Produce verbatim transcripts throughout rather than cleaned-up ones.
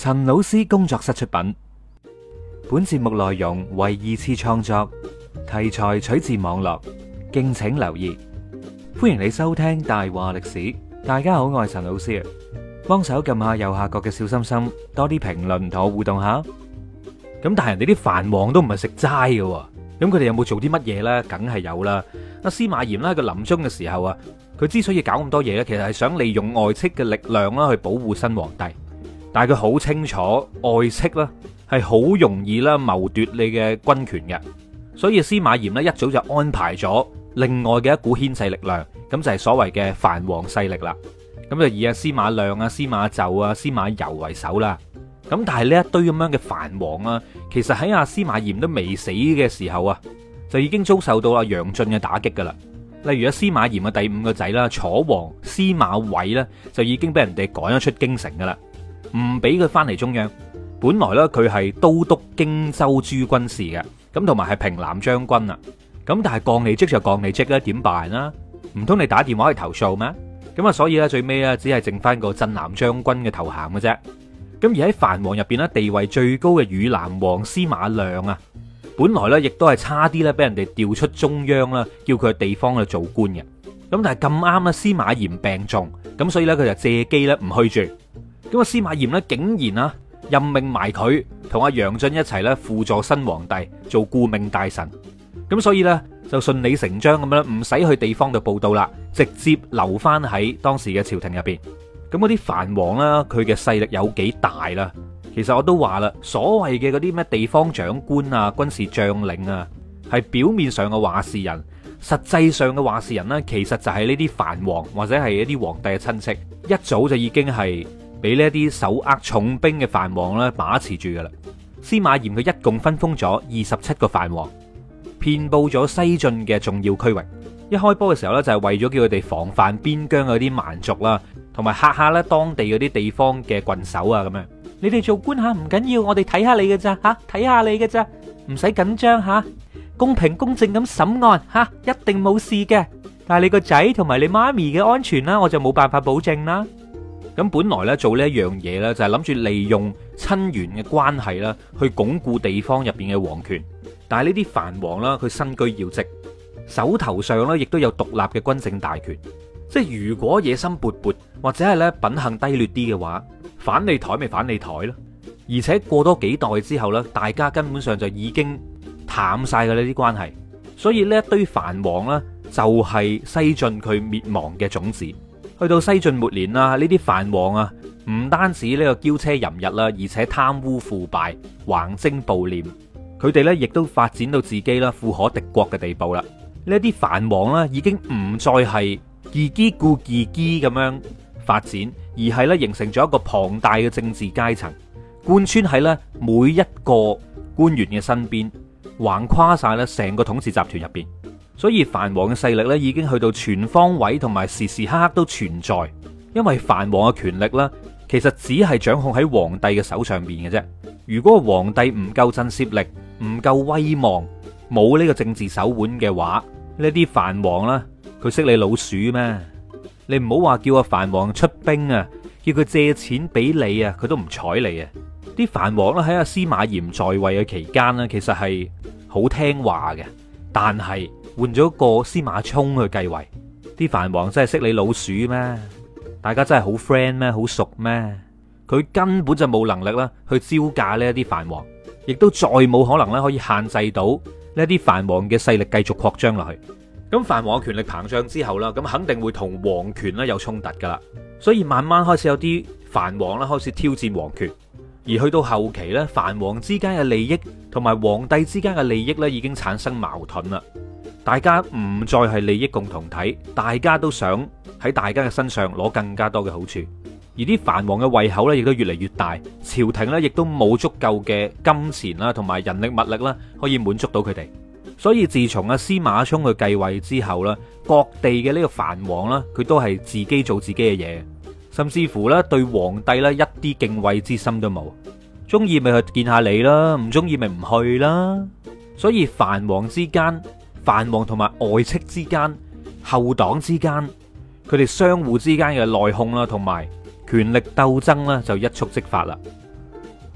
陳老師工作室出品，本節目內容為二次創作，題材取自網絡，敬請留意。歡迎你收聽大話歷史。大家好，我係陳老師啊，幫手撳下右下角嘅小心心，多啲評論同我互動下。咁但係人哋啲藩王都唔係食齋嘅，咁佢哋有冇做啲乜嘢呢？梗係有啦。阿司馬炎咧，佢臨終嘅時候啊，佢之所以搞咁多嘢咧，其實係想利用外戚嘅力量啦，去保護新皇帝。但係佢好清楚外戚啦係好容易啦謀奪你嘅軍權嘅，所以司馬炎咧一早就安排咗另外嘅一股牽制力量，咁就係所謂嘅藩王勢力啦。咁就以阿司馬亮啊、司馬伷啊、司馬攸為首啦。咁但係呢一堆咁樣嘅藩王啊，其實喺阿司馬炎都未死嘅時候啊，就已經遭受到阿楊駿嘅打擊噶啦。例如阿司馬炎嘅第五個仔啦，楚王司馬緯咧，就已經俾人哋趕咗出京城噶啦，唔俾佢翻嚟中央。本來咧佢係都督荊州諸軍事嘅，咁同埋係平南將軍啊。咁但係降你職就降你職啦，點辦啦？唔通你打電話去投訴咩？咁啊，所以咧最尾咧只係剩翻個鎮南將軍嘅頭銜嘅啫。咁而喺藩王入邊咧，地位最高嘅汝南王司馬亮啊，本來咧亦都係差啲咧俾人哋調出中央啦，叫佢去地方去做官嘅。咁但係咁啱啦，司馬炎病重，咁所以咧佢就借機咧唔去住。咁啊，司馬炎咧竟然啊任命埋佢同阿楊駿一齊咧輔助新皇帝做顧命大臣。咁所以咧就順理成章咁樣，唔使去地方度報到啦，直接留翻喺當時嘅朝廷入邊。咁嗰啲藩王啦，佢嘅勢力有幾大啦？其實我都話啦，所謂嘅嗰啲咩地方長官啊、軍事將領啊，係表面上嘅話事人，實際上嘅話事人呢，其實就係呢啲藩王或者係一啲皇帝嘅親戚，一早就已經係俾呢啲手握重兵嘅藩王咧把持住噶啦。司馬炎佢一共分封咗二十七個藩王，遍布咗西晉嘅重要區域。一開波嘅時候呢，就係為咗叫佢哋防範邊疆嗰啲蠻族啦，同埋嚇下咧當地嗰啲地方嘅郡守啊咁樣。你哋做官吓唔緊要，我哋睇下你嘅咋吓，睇下你嘅咋，唔使緊張吓，公平公正咁審案吓，一定冇事嘅。但係你個仔同埋你媽咪嘅安全啦，我就冇辦法保證啦。咁本來咧做呢一樣嘢咧，就係諗住利用親緣嘅關係啦，去鞏固地方入邊嘅皇權。但係呢啲藩王啦，佢身居要職，手頭上咧亦都有獨立嘅軍政大權。即係如果野心勃勃或者係咧品行低劣啲嘅話，反你台咪反你台咯。而且過多幾代之後呢，大家根本上就已經淡晒嘅呢啲關係。所以呢一堆藩王呢，就係西晉佢滅亡嘅種子。去到西晉末年啦，呢啲藩王啊，唔單止呢個驕奢淫逸啦，而且貪污腐敗、橫徵暴斂。佢哋呢亦都發展到自己啦富可敵國嘅地步啦。呢啲藩王呢，已經唔再係自己顧自己咁樣發展，而係咧形成咗一個龐大嘅政治階層，貫穿喺咧每一個官員嘅身邊，橫跨晒咧成個統治集團入邊。所以藩王嘅勢力咧已經去到全方位同埋時時刻刻都存在。因為藩王嘅權力咧，其實只係掌控喺皇帝嘅手上邊嘅啫。如果皇帝唔夠震懾力，唔夠威望，冇呢個政治手腕嘅話，呢啲藩王啦，佢識你老鼠咩？你唔好話叫個藩王出兵啊，叫佢借錢俾你啊，佢都唔睬你啊！啲藩王咧喺阿司馬炎在位嘅期間呢，其實係好聽話嘅，但係換咗個司馬衷去繼位，啲藩王真係識你老鼠咩？大家真係好 friend 咩？好熟咩？佢根本就冇能力啦去招架呢一啲藩王，亦都再冇可能咧可以限制到呢啲藩王嘅勢力繼續擴張落去。咁藩王嘅權力膨脹之後啦，咁肯定會同皇權咧有衝突噶啦，所以慢慢開始有啲藩王啦開始挑戰皇權，而去到後期咧，藩王之間嘅利益同埋皇帝之間嘅利益咧已經產生矛盾啦，大家唔再係利益共同體，大家都想喺大家嘅身上攞更加多嘅好處，而啲藩王嘅胃口咧亦都越嚟越大，朝廷咧亦都冇足夠嘅金錢啦同埋人力物力啦可以滿足到佢哋。所以自從阿司馬衷去繼位之後啦，各地嘅呢個藩王啦，佢都係自己做自己嘅嘢，甚至乎咧對皇帝咧一啲敬畏之心都冇，中意咪去見下你啦，唔中意咪唔去啦。所以藩王之間、藩王同埋外戚之間、後黨之間，佢哋相互之間嘅內訌啦，同埋權力鬥爭啦，就一觸即發啦。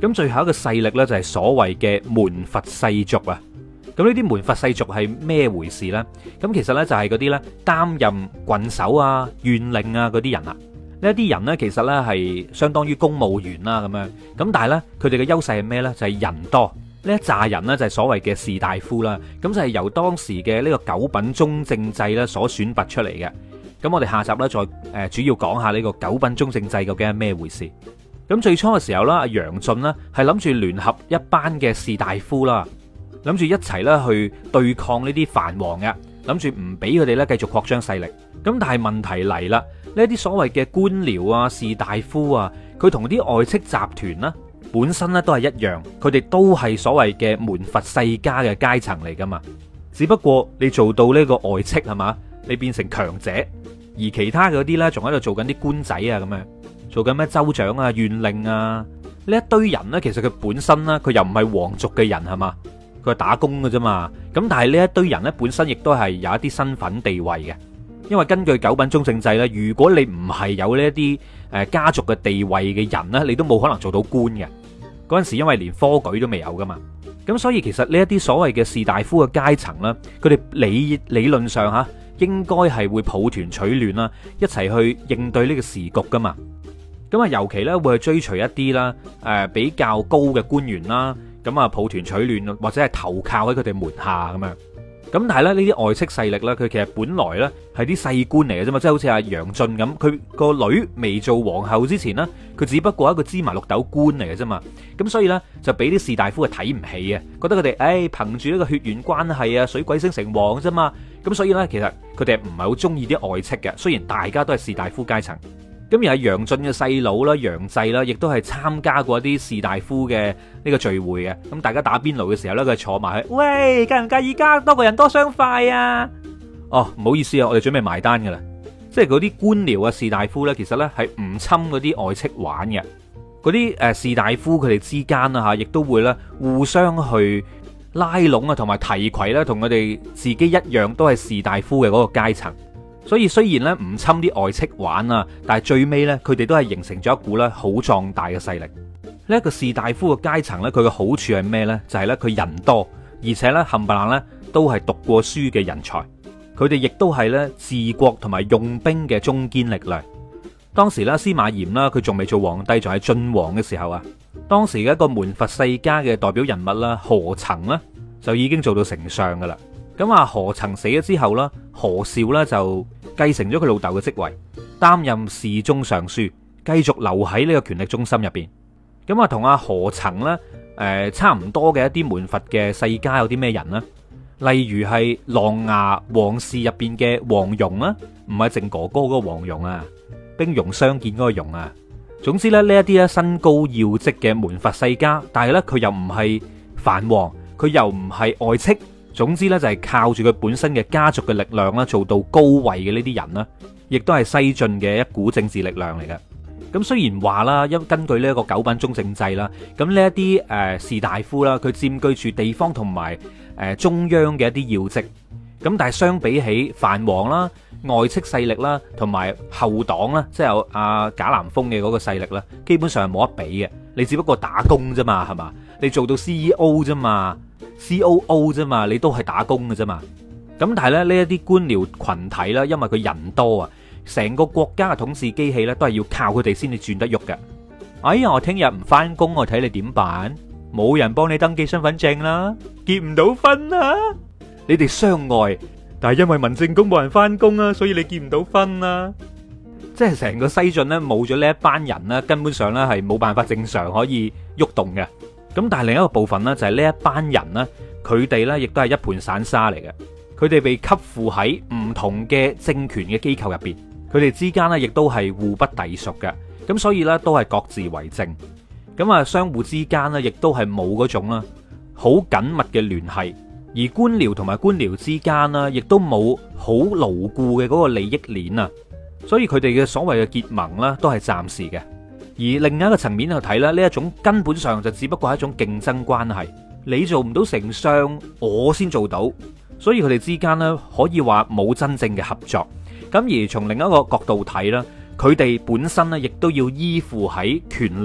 咁最後一個勢力呢，就係所謂嘅門閥世族啊。咁呢啲門閥世族係咩回事呢？咁其實呢，就係嗰啲呢擔任郡守啊、縣令啊嗰啲人啊。呢一啲人呢，其實呢係相當於公務員啦咁樣。咁但係呢，佢哋嘅優勢係咩呢？就係人多。呢一紮人呢，就係所謂嘅士大夫啦。咁就係由當時嘅呢個九品中正制呢所選拔出嚟嘅。咁我哋下集呢，再誒主要講下呢個九品中正制究竟係咩回事。咁最初嘅時候啦，阿楊駿呢係諗住聯合一班嘅士大夫啦，諗住一齊咧去對抗呢啲藩王嘅，諗住唔俾佢哋咧繼續擴張勢力。咁但係問題嚟啦，呢啲所謂嘅官僚啊、士大夫啊，佢同啲外戚集團呢本身咧都係一樣，佢哋都係所謂嘅門閥世家嘅階層嚟噶嘛。只不過你做到呢個外戚係嘛，你變成強者，而其他嗰啲咧仲喺度做緊啲官仔啊咁樣。做緊咩州長啊、縣令啊，呢一堆人呢，其實佢本身呢，佢又唔係皇族嘅人係嘛，佢係打工嘅啫嘛。咁但係呢一堆人呢，本身亦都係有一啲身份地位嘅，因為根據九品中正制呢，如果你唔係有呢一啲誒家族嘅地位嘅人呢，你都冇可能做到官嘅。嗰陣時因為連科舉都未有噶嘛，咁所以其實呢一啲所謂嘅士大夫嘅階層呢，佢哋理理論上吓應該係會抱團取暖啦，一齊去應對呢個時局噶嘛。咁啊，尤其咧會去追隨一啲啦，誒比較高嘅官員啦，咁啊抱團取暖，或者係投靠喺佢哋門下咁樣。咁但係咧呢啲外戚勢力咧，佢其實本來咧係啲細官嚟嘅啫嘛，即係好似阿楊駿咁，佢個女未做皇后之前呢，佢只不過係一個芝麻綠豆官嚟嘅啫嘛。咁所以咧就俾啲士大夫係睇唔起嘅，覺得佢哋誒憑住呢個血緣關係啊，水鬼升城隍啫嘛。咁所以咧其實佢哋唔係好中意啲外戚嘅，雖然大家都係士大夫階層。咁而係楊駿嘅細佬啦，楊濟啦，亦都係參加過一啲士大夫嘅呢個聚會嘅。咁大家打邊爐嘅時候咧，佢坐埋去，喂，介唔介意加多個人多雙筷啊？哦，唔好意思啊，我哋準備埋單噶啦。即係嗰啲官僚啊、士大夫咧，其實咧係唔侵嗰啲外戚玩嘅。嗰啲誒士大夫佢哋之間啊吓，亦都會咧互相去拉攏啊，同埋提攜咧，同佢哋自己一樣都係士大夫嘅嗰個階層。所以雖然咧唔侵啲外戚玩啊，但係最尾咧佢哋都係形成咗一股咧好壯大嘅勢力。呢一個士大夫嘅階層咧，佢嘅好處係咩呢？就係咧佢人多，而且咧冚唪唥咧都係讀過書嘅人才。佢哋亦都係咧治國同埋用兵嘅中堅力量。當時咧司馬炎啦，佢仲未做皇帝，仲係晉王嘅時候啊，當時嘅一個門閥世家嘅代表人物啦，何曾呢，就已經做到丞相噶啦。咁啊，何曾死咗之後啦，何紹咧就繼承咗佢老豆嘅職位，擔任侍中尚書，繼續留喺呢個權力中心入邊。咁啊，同阿何曾咧，誒差唔多嘅一啲門閥嘅世家有啲咩人呢？例如係琅琊王氏入邊嘅黃蓉啦，唔係靖哥哥嗰個黃蓉啊，兵戎相見嗰個蓉啊。總之咧，呢一啲咧身高要職嘅門閥世家，但係咧佢又唔係藩王，佢又唔係外戚。總之咧就係靠住佢本身嘅家族嘅力量啦，做到高位嘅呢啲人啦，亦都係西晉嘅一股政治力量嚟嘅。咁雖然話啦，因根據呢一個九品中正制啦，咁呢一啲誒士大夫啦，佢佔據住地方同埋誒中央嘅一啲要職。咁但係相比起藩王啦、外戚勢力啦，同埋後黨啦，即係有阿賈南風嘅嗰個勢力啦，基本上係冇得比嘅。你只不過打工啫嘛，係嘛？你做到 C E O 啫嘛。C O O 啫嘛，你都係打工嘅啫嘛。咁但係咧，呢一啲官僚群體啦，因為佢人多啊，成個國家嘅統治機器咧都係要靠佢哋先至轉得喐嘅。哎呀，我聽日唔翻工，我睇你點辦？冇人幫你登記身份證啦，結唔到婚啦。你哋相愛，但係因為民政局冇人翻工啊，所以你結唔到婚啦。即係成個西晉咧冇咗呢一班人咧，根本上咧係冇辦法正常可以喐動嘅。咁但係另一個部分呢，就係呢一班人呢，佢哋呢亦都係一盤散沙嚟嘅。佢哋被吸附喺唔同嘅政權嘅機構入邊，佢哋之間呢亦都係互不隸屬嘅。咁所以呢，都係各自為政。咁啊，相互之間呢，亦都係冇嗰種啦好緊密嘅聯繫。而官僚同埋官僚之間呢，亦都冇好牢固嘅嗰個利益鏈啊。所以佢哋嘅所謂嘅結盟呢，都係暫時嘅。而另一個層面去睇咧，呢一種根本上就只不過係一種競爭關係，你做唔到丞相，我先做到，所以佢哋之間呢，可以話冇真正嘅合作。咁而從另一個角度睇啦，佢哋本身呢，亦都要依附喺權力，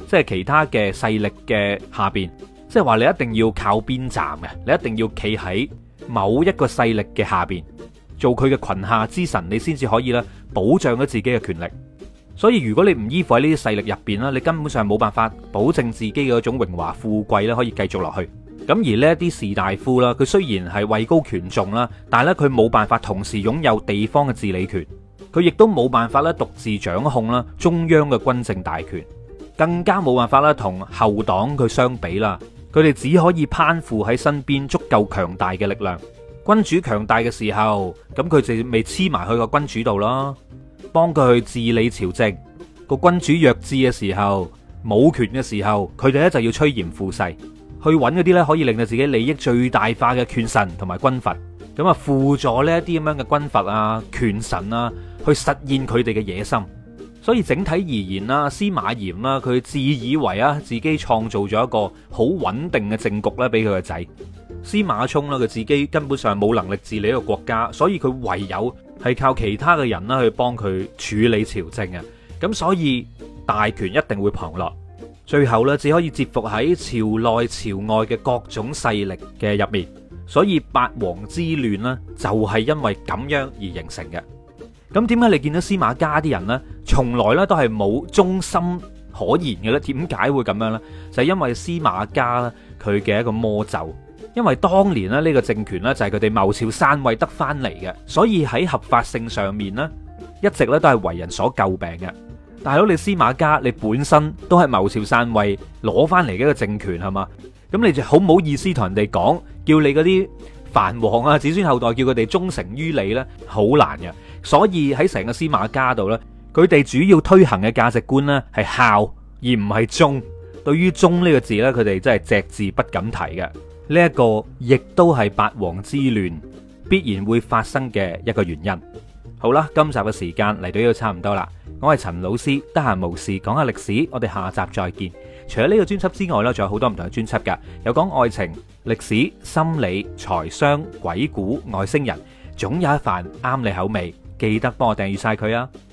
即係其他嘅勢力嘅下邊，即係話你一定要靠邊站嘅，你一定要企喺某一個勢力嘅下邊，做佢嘅裙下之臣，你先至可以咧保障咗自己嘅權力。所以如果你唔依附喺呢啲勢力入邊啦，你根本上冇辦法保證自己嘅嗰種榮華富貴咧可以繼續落去。咁而呢一啲士大夫啦，佢雖然係位高權重啦，但係咧佢冇辦法同時擁有地方嘅治理權，佢亦都冇辦法咧獨自掌控啦中央嘅軍政大權，更加冇辦法啦同後黨佢相比啦。佢哋只可以攀附喺身邊足夠強大嘅力量。君主強大嘅時候，咁佢就未黐埋去個君主度咯，幫佢去治理朝政。個君主弱智嘅時候，冇權嘅時候，佢哋咧就要趨炎附勢，去揾嗰啲咧可以令到自己利益最大化嘅權臣同埋軍閥，咁啊輔助呢一啲咁樣嘅軍閥啊、權臣啊，去實現佢哋嘅野心。所以整體而言啦，司馬炎啦，佢自以為啊自己創造咗一個好穩定嘅政局咧，俾佢個仔司馬衷啦，佢自己根本上冇能力治理一個國家，所以佢唯有係靠其他嘅人啦去幫佢處理朝政啊。咁所以大權一定會旁落，最後咧只可以折服喺朝內朝外嘅各種勢力嘅入面。所以八王之亂呢，就係因為咁樣而形成嘅。咁點解你見到司馬家啲人呢，從來咧都係冇忠心可言嘅咧？點解會咁樣呢？就係因為司馬家咧佢嘅一個魔咒。因為當年咧呢個政權呢，就係佢哋謀朝篡位得翻嚟嘅，所以喺合法性上面呢，一直咧都係為人所詬病嘅。大佬，你司馬家你本身都係謀朝篡位攞翻嚟嘅一個政權係嘛？咁你就好唔好意思同人哋講，叫你嗰啲藩王啊子孫後代叫佢哋忠誠於你呢？好難嘅。所以喺成個司馬家度呢，佢哋主要推行嘅價值觀呢係孝而唔係忠。對於忠呢個字呢，佢哋真係隻字不敢提嘅。呢一個亦都係八王之亂必然會發生嘅一個原因。好啦，今集嘅時間嚟到呢度差唔多啦。我係陳老師，得閒無事講下歷史，我哋下集再見。除咗呢個專輯之外呢，仲有好多唔同嘅專輯噶，有講愛情、歷史、心理、財商、鬼故、外星人，總有一瓣啱你口味。記得幫我訂閱晒佢啊！